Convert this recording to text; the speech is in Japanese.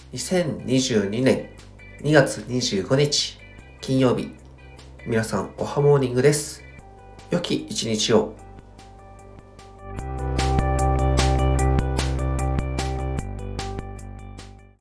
2022年2月25日金曜日、皆さんおはモーニングです。良き一日を